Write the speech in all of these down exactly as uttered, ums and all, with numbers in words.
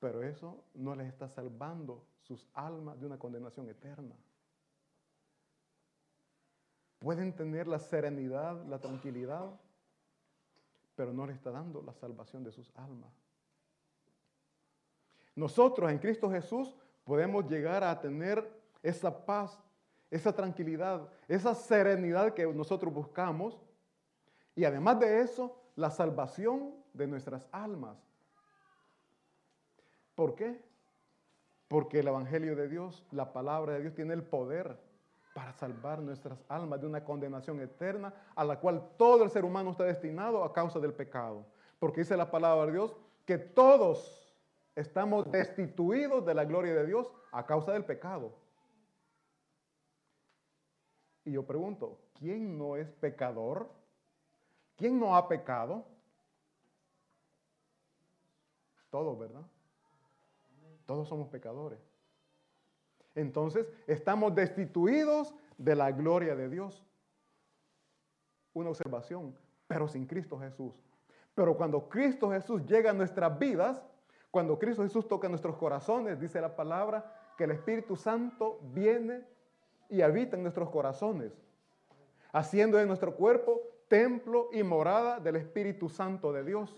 pero eso no les está salvando sus almas de una condenación eterna. Pueden tener la serenidad, la tranquilidad, pero no les está dando la salvación de sus almas. Nosotros en Cristo Jesús podemos llegar a tener esa paz, esa tranquilidad, esa serenidad que nosotros buscamos, y además de eso, la salvación de nuestras almas. ¿Por qué? Porque el Evangelio de Dios, la palabra de Dios, tiene el poder para salvar nuestras almas de una condenación eterna a la cual todo el ser humano está destinado a causa del pecado. Porque dice la palabra de Dios que todos estamos destituidos de la gloria de Dios a causa del pecado. Y yo pregunto, ¿quién no es pecador? ¿Quién no ha pecado? Todos, ¿verdad? Todos somos pecadores. Entonces, estamos destituidos de la gloria de Dios. Una observación, pero sin Cristo Jesús. Pero cuando Cristo Jesús llega a nuestras vidas, cuando Cristo Jesús toca nuestros corazones, dice la palabra que el Espíritu Santo viene y habita en nuestros corazones, haciendo de nuestro cuerpo templo y morada del Espíritu Santo de Dios.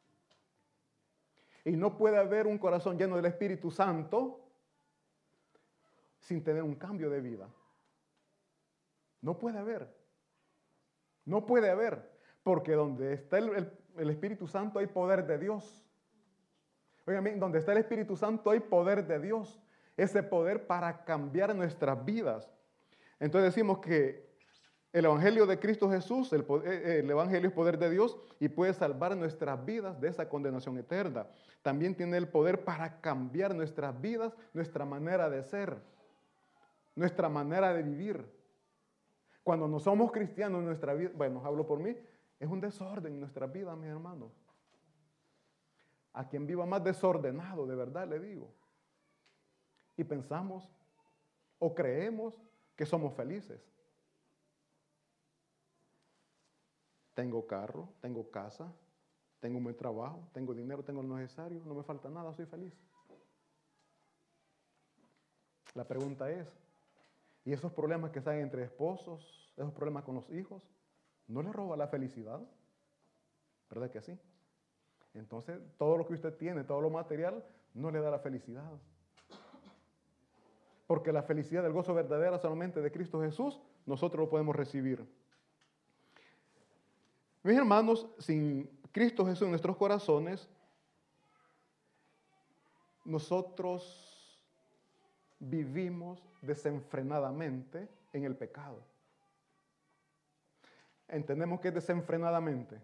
Y no puede haber un corazón lleno del Espíritu Santo sin tener un cambio de vida. No puede haber. No puede haber. Porque donde está el, el, el Espíritu Santo hay poder de Dios. Oigan, donde está el Espíritu Santo hay poder de Dios. Ese poder para cambiar nuestras vidas. Entonces decimos que el Evangelio de Cristo Jesús, el, el Evangelio es poder de Dios y puede salvar nuestras vidas de esa condenación eterna. También tiene el poder para cambiar nuestras vidas, nuestra manera de ser, nuestra manera de vivir. Cuando no somos cristianos en nuestra vida, bueno, hablo por mí, es un desorden en nuestra vida, mis hermanos. A quien viva más desordenado, de verdad le digo. Y pensamos o creemos que somos felices. Tengo carro, tengo casa, tengo un buen trabajo, tengo dinero, tengo lo necesario, no me falta nada, soy feliz. La pregunta es, ¿y esos problemas que salen entre esposos, esos problemas con los hijos, no les roba la felicidad? ¿Verdad que sí? Entonces, todo lo que usted tiene, todo lo material, no le da la felicidad. Porque la felicidad, el gozo verdadero solamente de Cristo Jesús, nosotros lo podemos recibir. Mis hermanos, sin Cristo Jesús en nuestros corazones, nosotros vivimos desenfrenadamente en el pecado. Entendemos que es desenfrenadamente.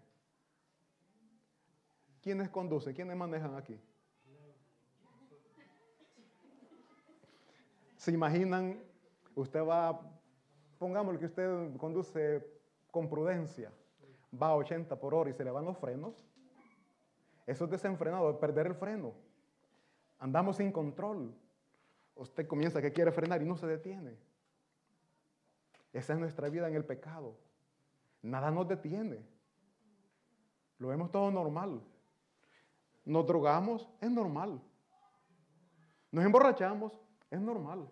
¿Quiénes conducen? ¿Quiénes manejan aquí? ¿Se imaginan? Usted va, pongámosle que usted conduce con prudencia, va a ochenta por hora y se le van los frenos. Eso es desenfrenado, es perder el freno. Andamos sin control. Usted comienza que quiere frenar y no se detiene. Esa es nuestra vida en el pecado. Nada nos detiene. Lo vemos todo normal. Nos drogamos, es normal. Nos emborrachamos, es normal.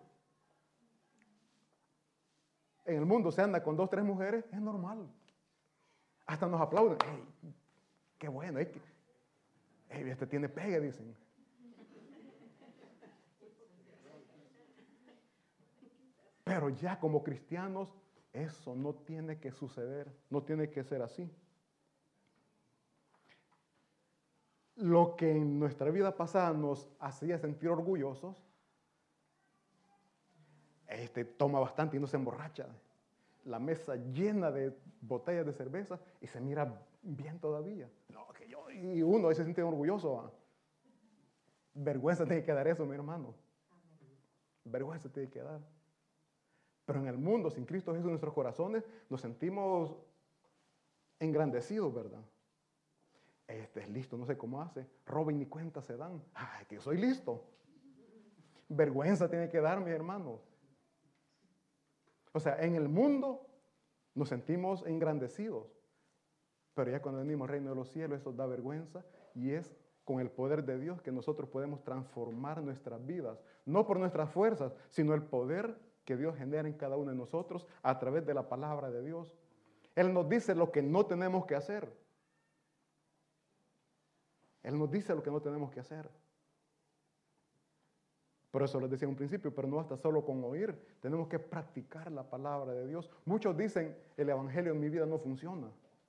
En el mundo se anda con dos, tres mujeres, es normal. Hasta nos aplauden. ¡Ey, qué bueno! ¡Ey, ey, este tiene pegue!, dicen. Pero ya como cristianos, eso no tiene que suceder, no tiene que ser así. Lo que en nuestra vida pasada nos hacía sentir orgullosos, este toma bastante y no se emborracha. La mesa llena de botellas de cerveza y se mira bien todavía. No, que yo, y uno se siente orgulloso. ¿Ah? Vergüenza tiene que dar eso, mi hermano. Vergüenza tiene que dar. Pero en el mundo, sin Cristo Jesús en nuestros corazones, nos sentimos engrandecidos, ¿verdad? Este es listo, no sé cómo hace. Roba y ni cuenta se dan. Ay, que yo soy listo. Vergüenza tiene que dar, mis hermanos. O sea, en el mundo nos sentimos engrandecidos. Pero ya cuando venimos al reino de los cielos, eso da vergüenza y es con el poder de Dios que nosotros podemos transformar nuestras vidas, no por nuestras fuerzas, sino el poder que Dios genera en cada uno de nosotros a través de la palabra de Dios. Él nos dice lo que no tenemos que hacer. Él nos dice lo que no tenemos que hacer. Por eso les decía en un principio, pero no basta solo con oír, tenemos que practicar la palabra de Dios. Muchos dicen, el evangelio en mi vida no funciona.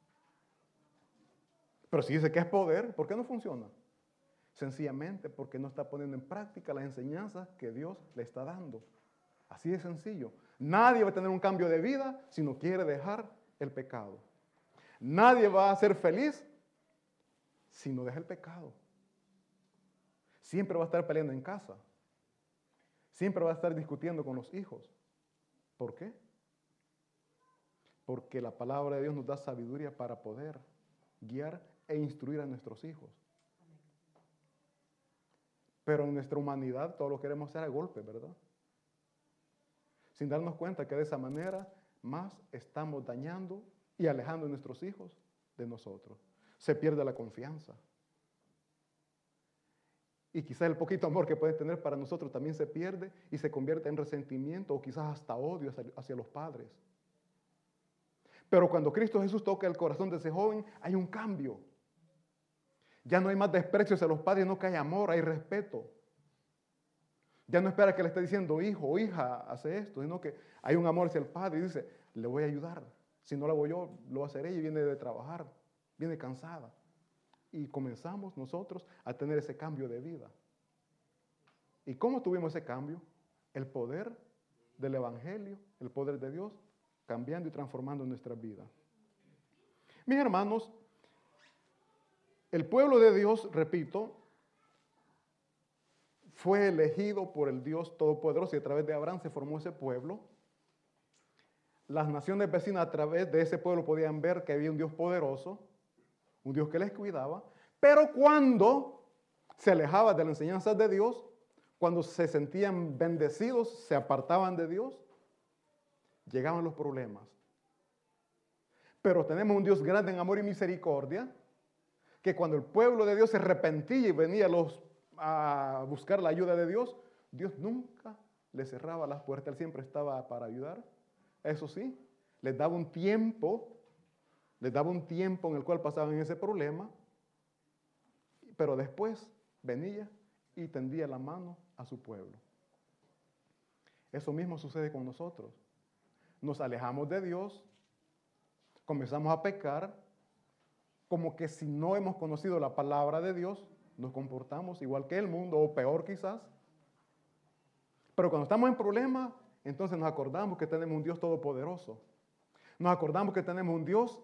Pero si dice que es poder, ¿por qué no funciona? Sencillamente porque no está poniendo en práctica las enseñanzas que Dios le está dando. Así de sencillo. Nadie va a tener un cambio de vida si no quiere dejar el pecado. Nadie va a ser feliz si no deja el pecado. Siempre va a estar peleando en casa. Siempre va a estar discutiendo con los hijos. ¿Por qué? Porque la palabra de Dios nos da sabiduría para poder guiar e instruir a nuestros hijos. Pero en nuestra humanidad todo lo queremos hacer a golpe, ¿verdad? Sin darnos cuenta que de esa manera más estamos dañando y alejando a nuestros hijos de nosotros. Se pierde la confianza. Y quizás el poquito amor que pueden tener para nosotros también se pierde y se convierte en resentimiento o quizás hasta odio hacia, hacia los padres. Pero cuando Cristo Jesús toca el corazón de ese joven, hay un cambio. Ya no hay más desprecio hacia los padres, no que hay amor, hay respeto. Ya no espera que le esté diciendo hijo o hija, hace esto, sino que hay un amor hacia el padre y dice, le voy a ayudar. Si no lo hago yo, lo va a hacer ella y viene de trabajar, viene cansada. Y comenzamos nosotros a tener ese cambio de vida. ¿Y cómo tuvimos ese cambio? El poder del Evangelio, el poder de Dios, cambiando y transformando nuestras vidas. Mis hermanos, el pueblo de Dios, repito, fue elegido por el Dios Todopoderoso y a través de Abraham se formó ese pueblo. Las naciones vecinas a través de ese pueblo podían ver que había un Dios poderoso, un Dios que les cuidaba, pero cuando se alejaba de las enseñanzas de Dios, cuando se sentían bendecidos, se apartaban de Dios, llegaban los problemas. Pero tenemos un Dios grande en amor y misericordia, que cuando el pueblo de Dios se arrepentía y venía a, los, a buscar la ayuda de Dios, Dios nunca les cerraba las puertas, Él siempre estaba para ayudar. Eso sí, les daba un tiempo, les daba un tiempo en el cual pasaban ese problema, pero después venía y tendía la mano a su pueblo. Eso mismo sucede con nosotros. Nos alejamos de Dios, comenzamos a pecar, como que si no hemos conocido la palabra de Dios, nos comportamos igual que el mundo, o peor quizás. Pero cuando estamos en problemas, entonces nos acordamos que tenemos un Dios todopoderoso. Nos acordamos que tenemos un Dios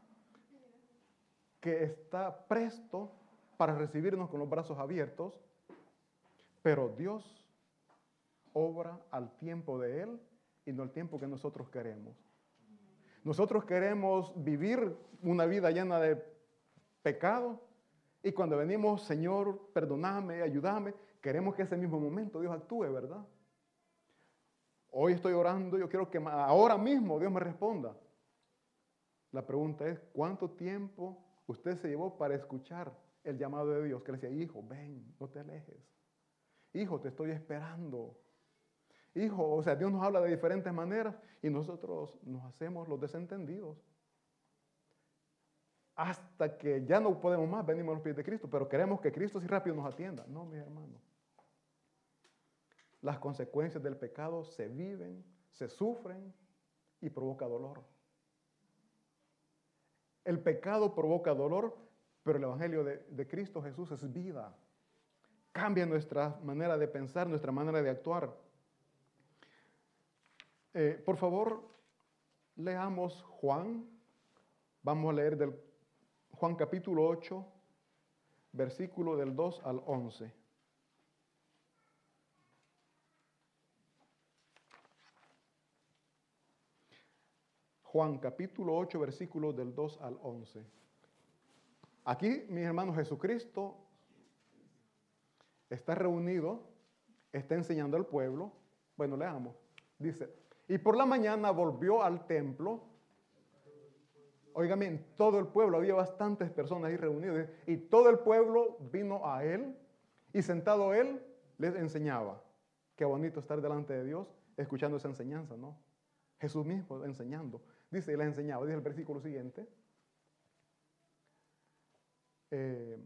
que está presto para recibirnos con los brazos abiertos, pero Dios obra al tiempo de Él y no al tiempo que nosotros queremos. Nosotros queremos vivir una vida llena de pecado y cuando venimos, Señor, perdóname, ayúdame, queremos que ese mismo momento Dios actúe, ¿verdad? Hoy estoy orando, yo quiero que ahora mismo Dios me responda. La pregunta es, ¿cuánto tiempo usted se llevó para escuchar el llamado de Dios? Que le decía, hijo, ven, no te alejes. Hijo, te estoy esperando. Hijo, o sea, Dios nos habla de diferentes maneras y nosotros nos hacemos los desentendidos. Hasta que ya no podemos más, venimos a los pies de Cristo, pero queremos que Cristo sí rápido nos atienda. No, mis hermanos. Las consecuencias del pecado se viven, se sufren y provoca dolor. El pecado provoca dolor, pero el Evangelio de, de Cristo Jesús es vida. Cambia nuestra manera de pensar, nuestra manera de actuar. Eh, por favor, leamos Juan. Vamos a leer del Juan capítulo ocho, versículo del dos al once. Juan capítulo ocho, versículos del dos al once. Aquí, mis hermanos, Jesucristo está reunido, está enseñando al pueblo. Bueno, leamos. Dice, y por la mañana volvió al templo. Óigame, en todo el pueblo había bastantes personas ahí reunidas y todo el pueblo vino a él y sentado él les enseñaba. Qué bonito estar delante de Dios escuchando esa enseñanza, ¿no? Jesús mismo enseñando. Dice, y les enseñaba, dice el versículo siguiente. Eh,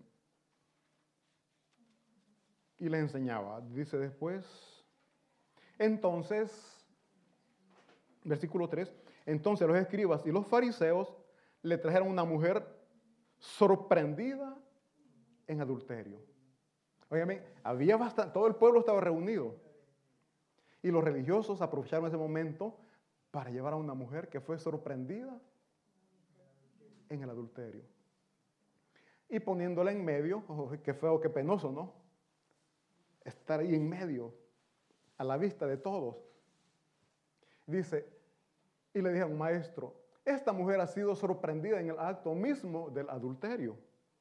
y les enseñaba, dice después. Entonces, versículo tres, entonces los escribas y los fariseos le trajeron una mujer sorprendida en adulterio. Óigame, había bastante, todo el pueblo estaba reunido. Y los religiosos aprovecharon ese momento para llevar a una mujer que fue sorprendida en el adulterio. Y poniéndola en medio, oh, qué feo, qué penoso, ¿no? Estar ahí en medio, a la vista de todos. Dice, y le dijeron, maestro, esta mujer ha sido sorprendida en el acto mismo del adulterio.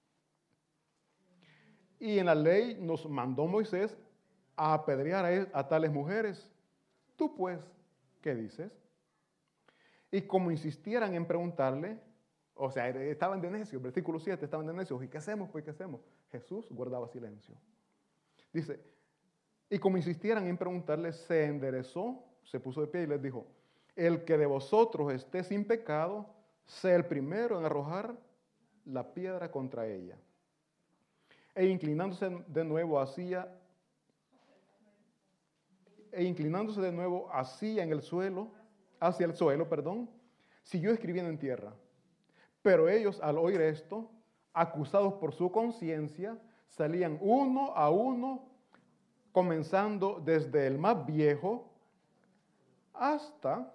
Y en la ley nos mandó Moisés a apedrear a, a tales mujeres. Tú pues, ¿qué dices? Y como insistieran en preguntarle, o sea, estaban de necios, versículo siete, estaban de necios. ¿Y qué hacemos? Pues, ¿qué hacemos? Jesús guardaba silencio. Dice, y como insistieran en preguntarle, se enderezó, se puso de pie y les dijo, el que de vosotros esté sin pecado, sea el primero en arrojar la piedra contra ella. E inclinándose de nuevo hacia, e inclinándose de nuevo hacia en el suelo, hacia el suelo, perdón, siguió escribiendo en tierra. Pero ellos, al oír esto, acusados por su conciencia, salían uno a uno, comenzando desde el más viejo hasta,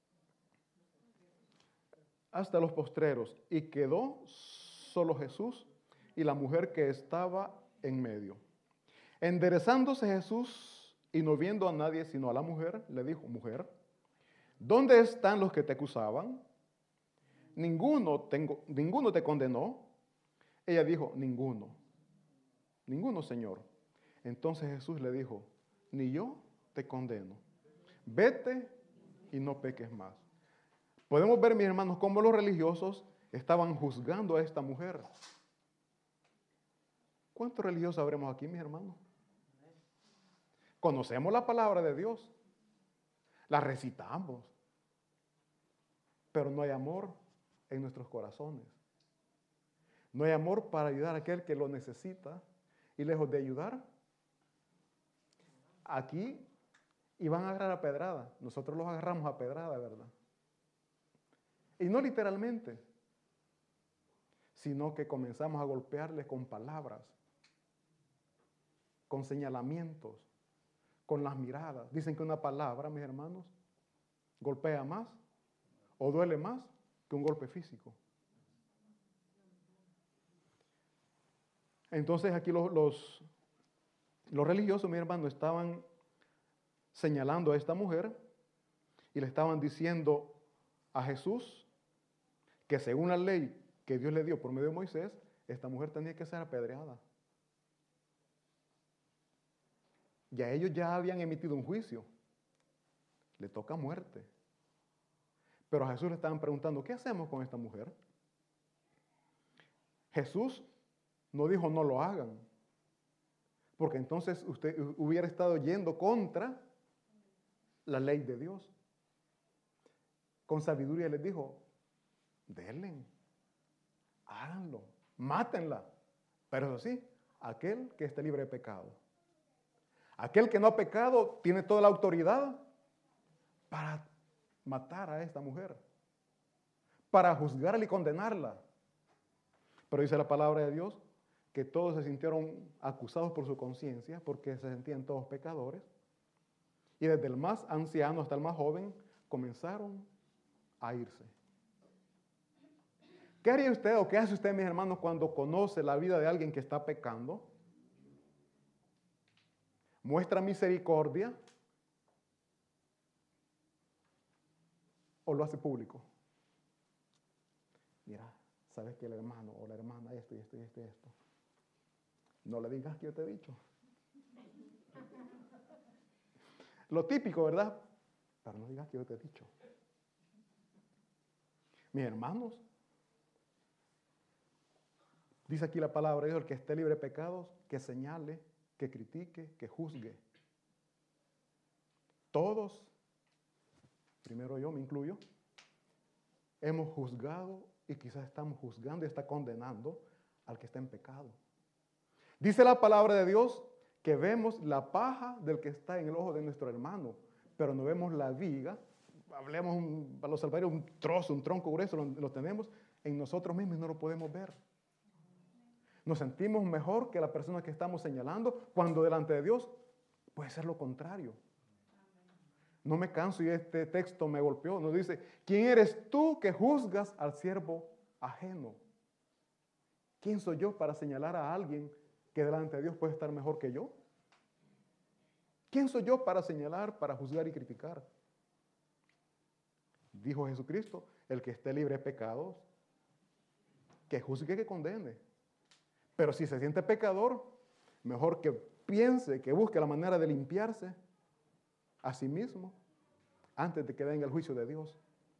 hasta los postreros, y quedó solo Jesús y la mujer que estaba en medio. Enderezándose Jesús y no viendo a nadie sino a la mujer, le dijo, mujer, ¿dónde están los que te acusaban? Ninguno, tengo, ninguno te condenó. Ella dijo, ninguno, ninguno, Señor. Entonces Jesús le dijo, ni yo te condeno. Vete y no peques más. Podemos ver, mis hermanos, cómo los religiosos estaban juzgando a esta mujer. ¿Cuántos religiosos habremos aquí, mis hermanos? Conocemos la palabra de Dios, la recitamos, pero no hay amor en nuestros corazones. No hay amor para ayudar a aquel que lo necesita y lejos de ayudar, aquí iban a agarrar a pedrada. Nosotros los agarramos a pedrada, ¿verdad? Y no literalmente, sino que comenzamos a golpearles con palabras, con señalamientos, con las miradas. Dicen que una palabra, mis hermanos, golpea más o duele más que un golpe físico. Entonces aquí los, los, los religiosos, mis hermanos, estaban señalando a esta mujer y le estaban diciendo a Jesús que según la ley que Dios le dio por medio de Moisés, esta mujer tenía que ser apedreada. Ya ellos ya habían emitido un juicio. Le toca muerte. Pero a Jesús le estaban preguntando, ¿qué hacemos con esta mujer? Jesús no dijo no lo hagan, porque entonces usted hubiera estado yendo contra la ley de Dios. Con sabiduría les dijo, denle, háganlo, mátenla. Pero eso sí, aquel que esté libre de pecado. Aquel que no ha pecado tiene toda la autoridad para matar a esta mujer, para juzgarla y condenarla. Pero dice la palabra de Dios que todos se sintieron acusados por su conciencia porque se sentían todos pecadores. Y desde el más anciano hasta el más joven comenzaron a irse. ¿Qué haría usted o qué hace usted, mis hermanos, cuando conoce la vida de alguien que está pecando? ¿Muestra misericordia o lo hace público? Mira, sabes que el hermano o la hermana esto y esto y esto y esto. No le digas que yo te he dicho. Lo típico, ¿verdad? Pero no digas que yo te he dicho. Mis hermanos, Dice aquí la palabra de Dios, el que esté libre de pecados, que señale, que critique, que juzgue. Todos, primero yo me incluyo, hemos juzgado y quizás estamos juzgando y está condenando al que está en pecado. Dice la palabra de Dios que vemos la paja del que está en el ojo de nuestro hermano, pero no vemos la viga. Hablemos un, para los salvadores, un trozo, un tronco grueso, lo, lo tenemos en nosotros mismos y no lo podemos ver. Nos sentimos mejor que la persona que estamos señalando, cuando delante de Dios puede ser lo contrario. No me canso y este texto me golpeó. Nos dice, ¿quién eres tú que juzgas al siervo ajeno? ¿Quién soy yo para señalar a alguien que delante de Dios puede estar mejor que yo? ¿Quién soy yo para señalar, para juzgar y criticar? Dijo Jesucristo, el que esté libre de pecados, que juzgue, que condene. Pero si se siente pecador, mejor que piense, que busque la manera de limpiarse a sí mismo antes de que venga el juicio de Dios.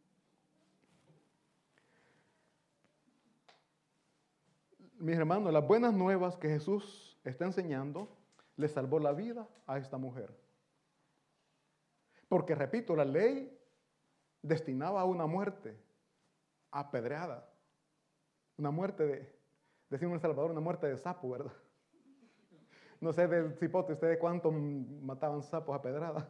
Mis hermanos, las buenas nuevas que Jesús está enseñando le salvó la vida a esta mujer. Porque, repito, la ley destinaba a una muerte apedreada, una muerte de, decimos en El Salvador, una muerte de sapo, ¿verdad? No sé del cipote, ustedes cuántos mataban sapos a pedrada.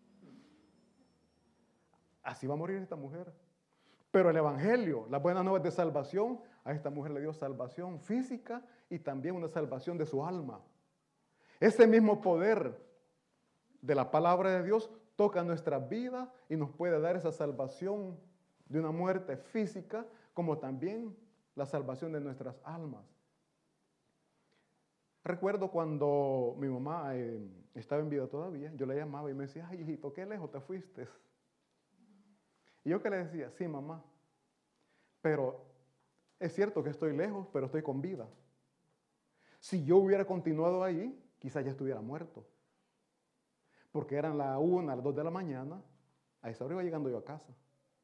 Así va a morir esta mujer. Pero el Evangelio, las buenas nuevas de salvación, a esta mujer le dio salvación física y también una salvación de su alma. Ese mismo poder de la palabra de Dios toca nuestra vida y nos puede dar esa salvación de una muerte física, como también la salvación de nuestras almas. Recuerdo cuando mi mamá eh, estaba en vida todavía, yo le llamaba y me decía, ay, hijito, qué lejos te fuiste. Y yo que le decía, sí, mamá, pero es cierto que estoy lejos, pero estoy con vida. Si yo hubiera continuado ahí, quizás ya estuviera muerto. Porque eran las una, las dos de la mañana, a esa hora iba llegando yo a casa.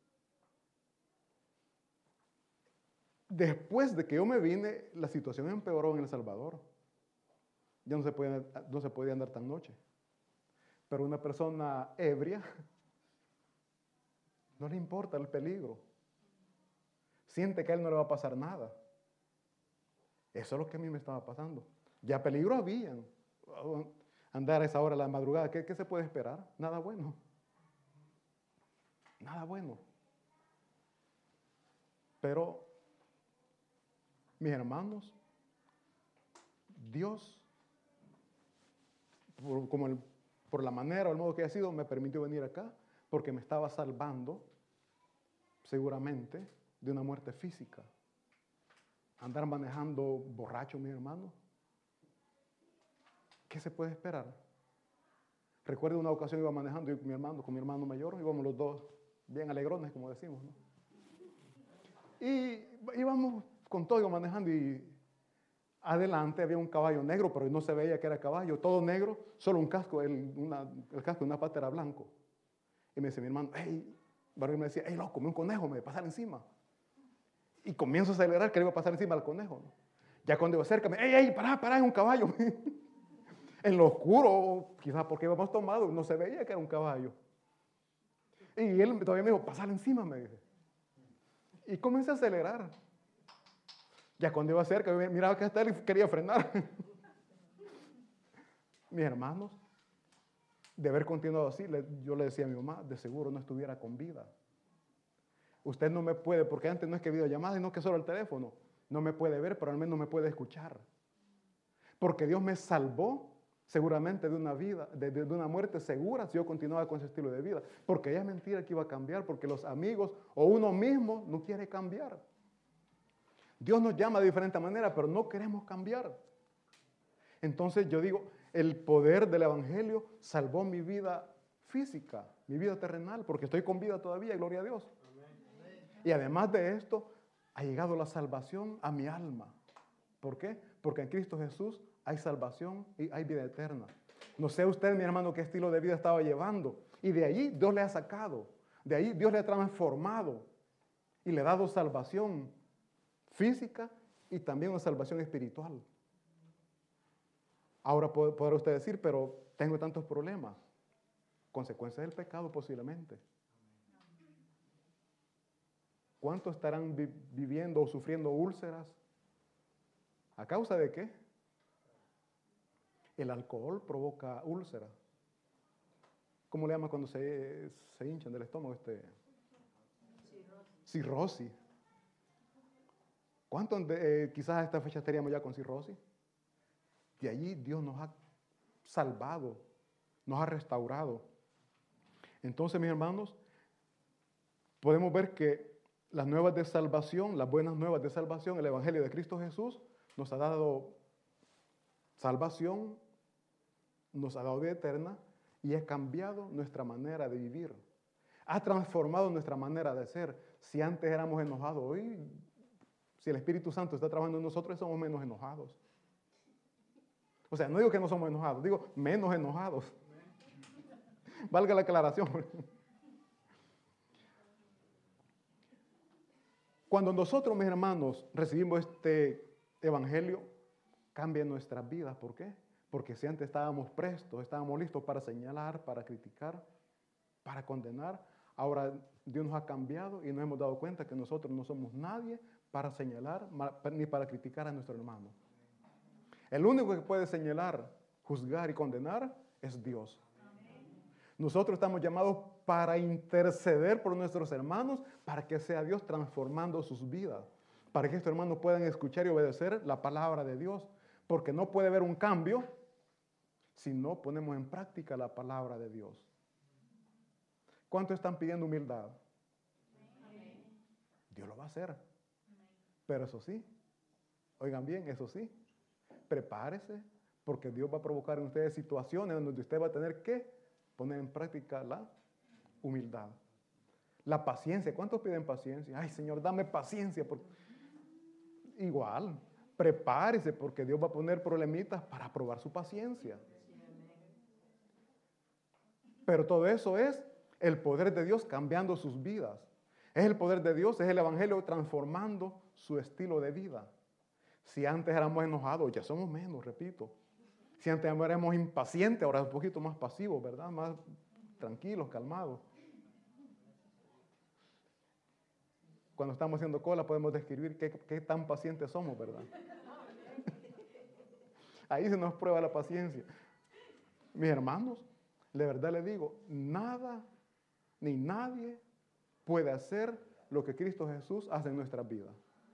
Después de que yo me vine, la situación empeoró en El Salvador. Ya no se podía, no se podía andar tan noche. Pero una persona ebria no le importa el peligro. Siente que a él no le va a pasar nada. Eso es lo que a mí me estaba pasando. Ya peligro habían. Andar a esa hora de la madrugada, ¿qué, qué se puede esperar? Nada bueno. Nada bueno. Pero, mis hermanos, Dios, por, como el, por la manera o el modo que ha sido, me permitió venir acá porque me estaba salvando, seguramente, de una muerte física. Andar manejando borracho, mis hermanos. ¿Qué se puede esperar? Recuerdo una ocasión iba manejando yo con mi hermano, con mi hermano mayor, íbamos los dos bien alegrones, como decimos, ¿no? Y íbamos con todo, iba manejando y adelante había un caballo negro, pero no se veía que era caballo, todo negro, solo un casco, el, una, el casco de una pata era blanco. Y me dice mi hermano, hey, Barrio me decía, hey, loco, un conejo, me va a pasar encima. Y comienzo a acelerar que le iba a pasar encima al conejo, ¿no? Ya cuando iba cerca, me, hey, hey, pará, pará, es un caballo. En lo oscuro, quizás porque íbamos tomados, no se veía que era un caballo. Y él todavía me dijo, pasar encima, me dice. Y comencé a acelerar. Ya cuando iba cerca, miraba que hasta él quería frenar. Mis hermanos, de haber continuado así, yo le decía a mi mamá, de seguro no estuviera con vida. Usted no me puede, porque antes no es que videollamada, sino que solo el teléfono. No me puede ver, pero al menos me puede escuchar. Porque Dios me salvó seguramente de una vida, de, de una muerte segura si yo continuaba con ese estilo de vida. Porque ya es mentira que iba a cambiar, porque los amigos o uno mismo no quiere cambiar. Dios nos llama de diferente manera, pero no queremos cambiar. Entonces yo digo, el poder del Evangelio salvó mi vida física, mi vida terrenal, porque estoy con vida todavía, gloria a Dios. Y además de esto, ha llegado la salvación a mi alma. ¿Por qué? Porque en Cristo Jesús hay salvación y hay vida eterna. No sé usted, mi hermano, qué estilo de vida estaba llevando. Y de allí Dios le ha sacado. De ahí Dios le ha transformado. Y le ha dado salvación física y también una salvación espiritual. Ahora podrá usted decir, pero tengo tantos problemas. Consecuencia del pecado posiblemente. ¿Cuántos estarán vi- viviendo o sufriendo úlceras? ¿A causa de qué? El alcohol provoca úlceras. ¿Cómo le llama cuando se, se hinchan del estómago? Este? Cirrosis. ¿Cuántos de, eh, quizás a esta fecha estaríamos ya con cirrosis? De allí Dios nos ha salvado, nos ha restaurado. Entonces, mis hermanos, podemos ver que las nuevas de salvación, las buenas nuevas de salvación, el Evangelio de Cristo Jesús, nos ha dado salvación, nos ha dado vida eterna y ha cambiado nuestra manera de vivir. Ha transformado nuestra manera de ser. Si antes éramos enojados, hoy, si el Espíritu Santo está trabajando en nosotros, somos menos enojados. O sea, no digo que no somos enojados, digo menos enojados. Valga la aclaración. Cuando nosotros, mis hermanos, recibimos este evangelio, cambia nuestras vidas. ¿Por qué? Porque si antes estábamos prestos, estábamos listos para señalar, para criticar, para condenar, ahora Dios nos ha cambiado y nos hemos dado cuenta que nosotros no somos nadie para señalar ni para criticar a nuestro hermano. El único que puede señalar, juzgar y condenar es Dios. Nosotros estamos llamados para interceder por nuestros hermanos, para que sea Dios transformando sus vidas, para que estos hermanos puedan escuchar y obedecer la palabra de Dios, porque no puede haber un cambio si no ponemos en práctica la palabra de Dios. ¿Cuántos están pidiendo humildad? Amén. Dios lo va a hacer. Amén. Pero eso sí, oigan bien, eso sí, prepárese, porque Dios va a provocar en ustedes situaciones donde usted va a tener que poner en práctica la humildad. La paciencia. ¿Cuántos piden paciencia? Ay, Señor, dame paciencia. Porque... Igual, prepárese porque Dios va a poner problemitas para probar su paciencia. Pero todo eso es el poder de Dios cambiando sus vidas. Es el poder de Dios, es el Evangelio transformando su estilo de vida. Si antes éramos enojados, ya somos menos, repito. Si antes éramos impacientes, ahora un poquito más pasivos, ¿verdad? Más tranquilos, calmados. Cuando estamos haciendo cola podemos describir qué, qué tan pacientes somos, ¿verdad? Ahí se nos prueba la paciencia. Mis hermanos, de verdad les digo, nada ni nadie puede hacer lo que Cristo Jesús hace en nuestras vidas.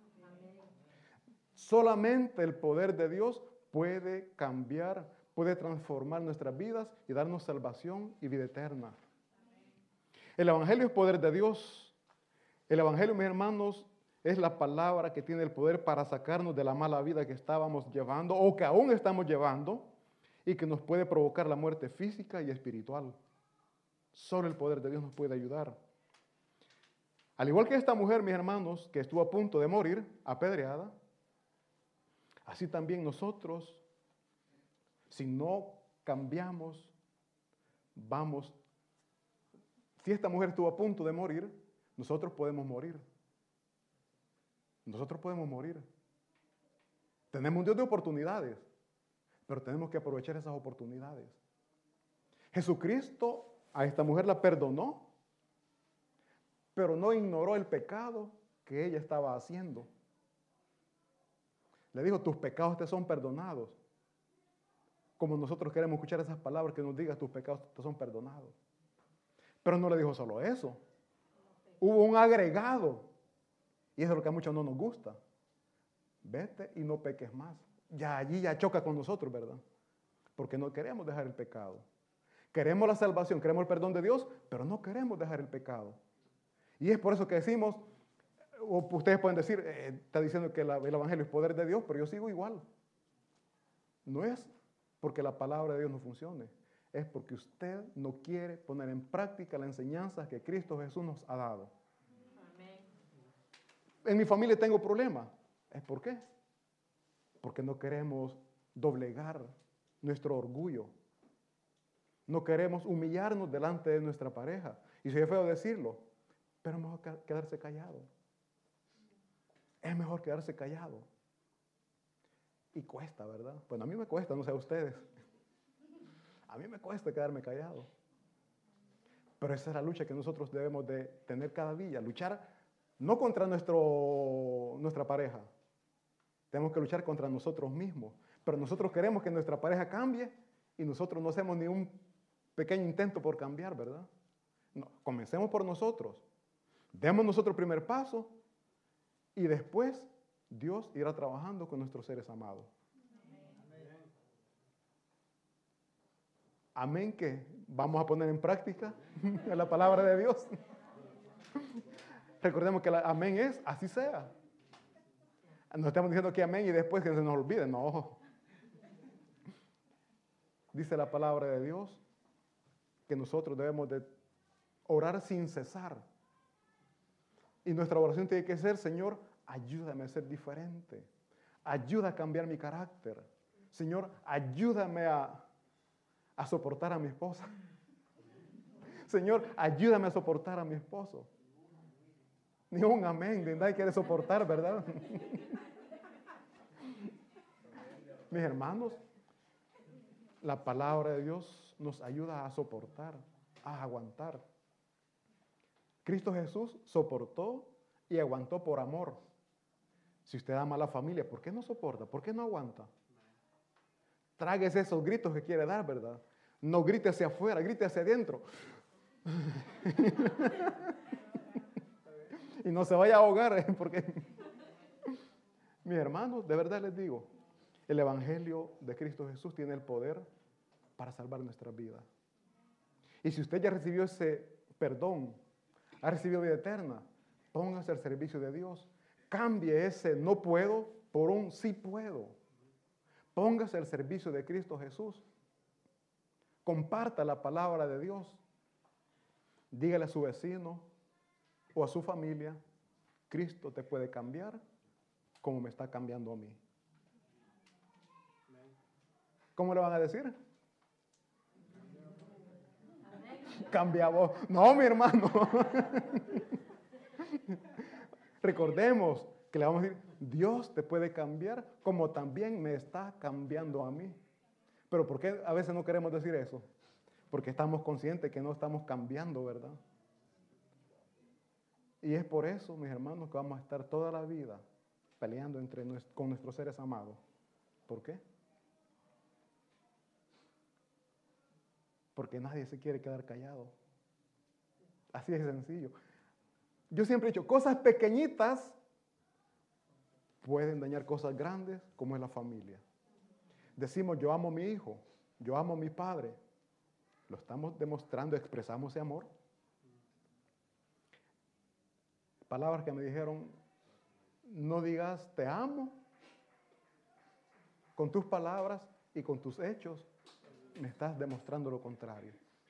Solamente el poder de Dios puede cambiar, puede transformar nuestras vidas y darnos salvación y vida eterna. El Evangelio es poder de Dios. El Evangelio, mis hermanos, es la palabra que tiene el poder para sacarnos de la mala vida que estábamos llevando o que aún estamos llevando y que nos puede provocar la muerte física y espiritual. Solo el poder de Dios nos puede ayudar. Al igual que esta mujer, mis hermanos, que estuvo a punto de morir, apedreada, así también nosotros, si no cambiamos, vamos. Si esta mujer estuvo a punto de morir, nosotros podemos morir. Nosotros podemos morir. Tenemos un Dios de oportunidades, pero tenemos que aprovechar esas oportunidades. Jesucristo a esta mujer la perdonó, pero no ignoró el pecado que ella estaba haciendo. Le dijo, tus pecados te son perdonados. Como nosotros queremos escuchar esas palabras que nos digan, tus pecados te son perdonados. Pero no le dijo solo eso. Hubo un agregado. Y eso es lo que a muchos no nos gusta. Vete y no peques más. Ya allí ya choca con nosotros, ¿verdad? Porque no queremos dejar el pecado. Queremos la salvación, queremos el perdón de Dios, pero no queremos dejar el pecado. Y es por eso que decimos, o ustedes pueden decir, eh, está diciendo que la, el Evangelio es poder de Dios, pero yo sigo igual. No es porque la palabra de Dios no funcione, es porque usted no quiere poner en práctica la enseñanza que Cristo Jesús nos ha dado. Amén. En mi familia tengo problemas. ¿Es por qué? Porque no queremos doblegar nuestro orgullo. No queremos humillarnos delante de nuestra pareja. Y si es feo decirlo, pero es mejor quedarse callado. Es mejor quedarse callado. Y cuesta, ¿verdad? Bueno, a mí me cuesta, no sé a ustedes. A mí me cuesta quedarme callado. Pero esa es la lucha que nosotros debemos de tener cada día. Luchar no contra nuestro, nuestra pareja. Tenemos que luchar contra nosotros mismos. Pero nosotros queremos que nuestra pareja cambie y nosotros no hacemos ni un pequeño intento por cambiar, ¿verdad? No, comencemos por nosotros. Demos nosotros el primer paso y después Dios irá trabajando con nuestros seres amados. Amén, que vamos a poner en práctica la palabra de Dios. Recordemos que la amén es así sea. No estamos diciendo que amén y después que se nos olvide, no. Dice la palabra de Dios que nosotros debemos de orar sin cesar. Y nuestra oración tiene que ser: Señor, ayúdame a ser diferente. Ayuda a cambiar mi carácter. Señor, ayúdame a, a soportar a mi esposa. Señor, ayúdame a soportar a mi esposo. Ni un amén, de nadie quiere soportar, ¿verdad? Mis hermanos, la palabra de Dios nos ayuda a soportar, a aguantar. Cristo Jesús soportó y aguantó por amor. Si usted ama a la familia, ¿por qué no soporta? ¿Por qué no aguanta? Tráguese esos gritos que quiere dar, ¿verdad? No grite hacia afuera, grite hacia adentro. Y no se vaya a ahogar, porque mis hermanos, de verdad les digo, el Evangelio de Cristo Jesús tiene el poder para salvar nuestras vidas. Y si usted ya recibió ese perdón, ha recibido vida eterna, póngase al servicio de Dios. Cambie ese no puedo por un sí puedo. Póngase al servicio de Cristo Jesús. Comparta la palabra de Dios. Dígale a su vecino o a su familia: Cristo te puede cambiar como me está cambiando a mí. ¿Cómo le van a decir? Cambia vos. No, mi hermano. Recordemos que le vamos a decir: Dios te puede cambiar como también me está cambiando a mí. Pero ¿por qué a veces no queremos decir eso? Porque estamos conscientes que no estamos cambiando, ¿verdad? Y es por eso, mis hermanos, que vamos a estar toda la vida peleando entre nuestro, con nuestros seres amados. ¿Por qué? Porque nadie se quiere quedar callado. Así de sencillo. Yo siempre he dicho, cosas pequeñitas pueden dañar cosas grandes como es la familia. Decimos, yo amo a mi hijo, yo amo a mi padre. Lo estamos demostrando, expresamos ese amor. Palabras que me dijeron: no digas te amo con tus palabras y con tus hechos me estás demostrando lo contrario.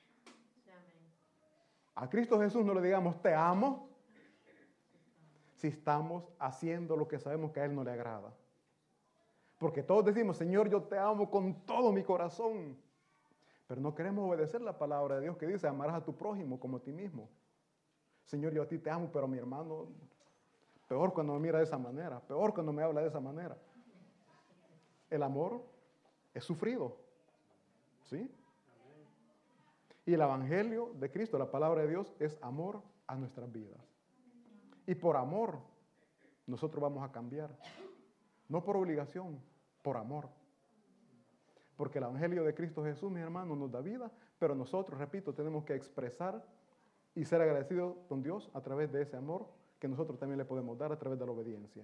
A Cristo Jesús no le digamos te amo si estamos haciendo lo que sabemos que a Él no le agrada. Porque todos decimos: Señor, yo te amo con todo mi corazón. Pero no queremos obedecer la palabra de Dios que dice: amarás a tu prójimo como a ti mismo. Señor, yo a ti te amo, pero a mi hermano, peor cuando me mira de esa manera, peor cuando me habla de esa manera. El amor es sufrido, ¿sí? Y el Evangelio de Cristo, la palabra de Dios, es amor a nuestras vidas. Y por amor, nosotros vamos a cambiar. No por obligación, por amor. Porque el Evangelio de Cristo Jesús, mis hermanos, nos da vida, pero nosotros, repito, tenemos que expresar y ser agradecidos con Dios a través de ese amor que nosotros también le podemos dar a través de la obediencia.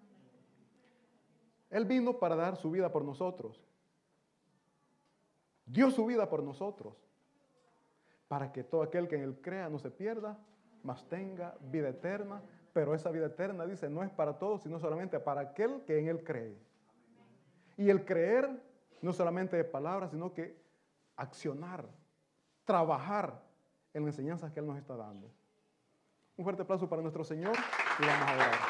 Él vino para dar su vida por nosotros. Dio su vida por nosotros, para que todo aquel que en Él crea no se pierda, mas tenga vida eterna. Pero esa vida eterna, dice, no es para todos, sino solamente para aquel que en Él cree. Y el creer no solamente de palabras, sino que accionar, trabajar en las enseñanzas que Él nos está dando. Un fuerte aplauso para nuestro Señor y vamos a orar.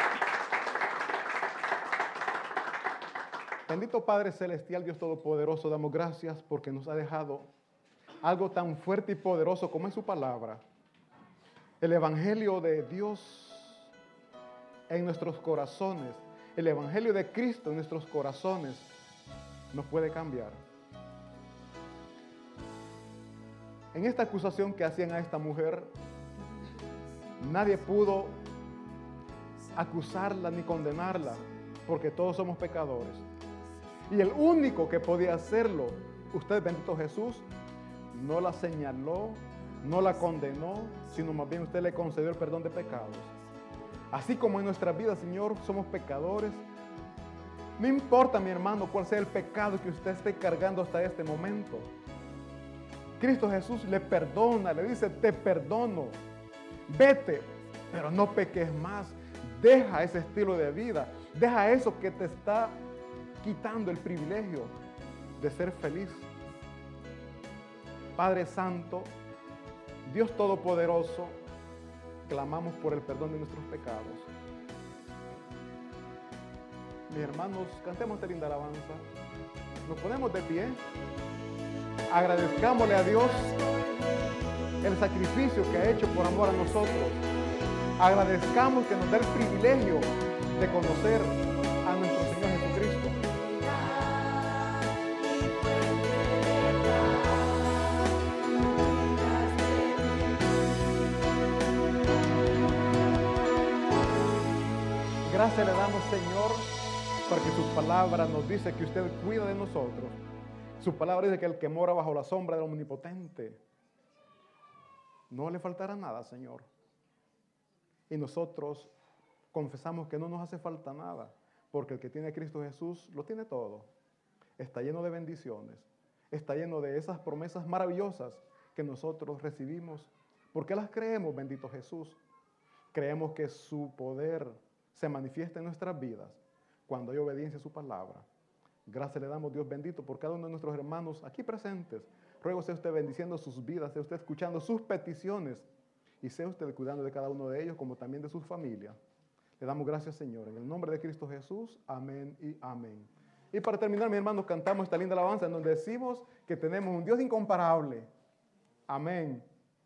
Bendito Padre Celestial, Dios Todopoderoso, damos gracias porque nos ha dejado algo tan fuerte y poderoso como es su palabra. El Evangelio de Dios en nuestros corazones, el Evangelio de Cristo en nuestros corazones nos puede cambiar. En esta acusación que hacían a esta mujer, nadie pudo acusarla ni condenarla, porque todos somos pecadores. Y el único que podía hacerlo, usted, bendito Jesús, no la señaló, no la condenó, sino más bien usted le concedió el perdón de pecados. Así como en nuestra vida, Señor, somos pecadores. No importa, mi hermano, cuál sea el pecado que usted esté cargando hasta este momento. Cristo Jesús le perdona, le dice, te perdono. Vete, pero no peques más. Deja ese estilo de vida. Deja eso que te está quitando el privilegio de ser feliz. Padre Santo, Dios Todopoderoso, clamamos por el perdón de nuestros pecados. Mis hermanos, cantemos esta linda alabanza. Nos ponemos de pie. Agradezcámosle a Dios el sacrificio que ha hecho por amor a nosotros. Agradezcamos que nos da el privilegio de conocer a nuestro Señor Jesucristo. Gracias le damos, Señor, porque su palabra nos dice que usted cuida de nosotros. Su palabra dice que el que mora bajo la sombra del Omnipotente no le faltará nada, Señor. Y nosotros confesamos que no nos hace falta nada, porque el que tiene a Cristo Jesús lo tiene todo. Está lleno de bendiciones, está lleno de esas promesas maravillosas que nosotros recibimos. ¿Por qué las creemos, bendito Jesús? Creemos que su poder se manifiesta en nuestras vidas cuando hay obediencia a su palabra. Gracias le damos, Dios bendito, por cada uno de nuestros hermanos aquí presentes. Ruego sea usted bendiciendo sus vidas, sea usted escuchando sus peticiones y sea usted cuidando de cada uno de ellos como también de sus familias. Le damos gracias, Señor, en el nombre de Cristo Jesús. Amén y amén. Y para terminar, mis hermanos, cantamos esta linda alabanza en donde decimos que tenemos un Dios incomparable. Amén.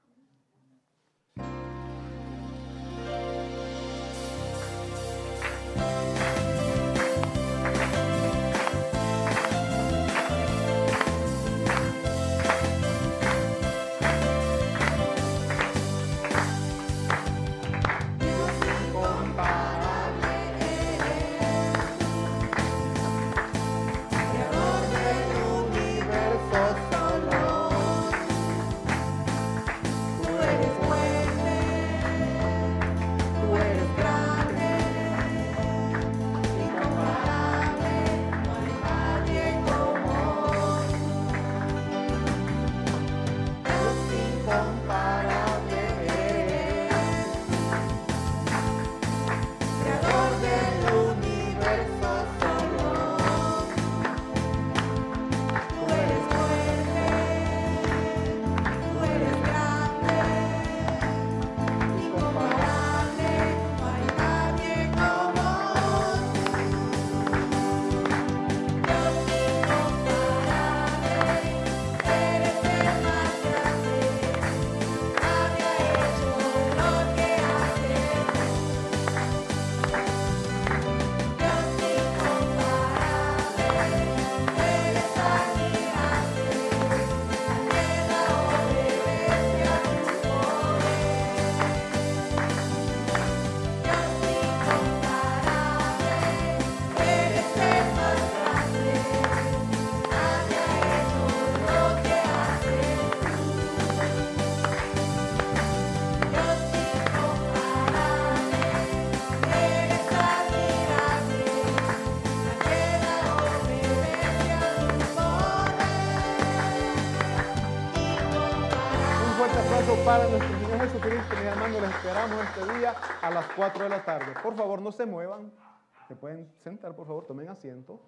Para nuestro Señor Jesucristo, mis hermanos, les esperamos este día a las cuatro de la tarde. Por favor, no se muevan. Se pueden sentar, por favor, tomen asiento.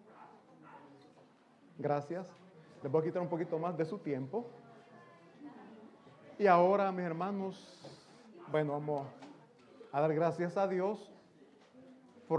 Gracias. Les voy a quitar un poquito más de su tiempo. Y ahora, mis hermanos, bueno, vamos a dar gracias a Dios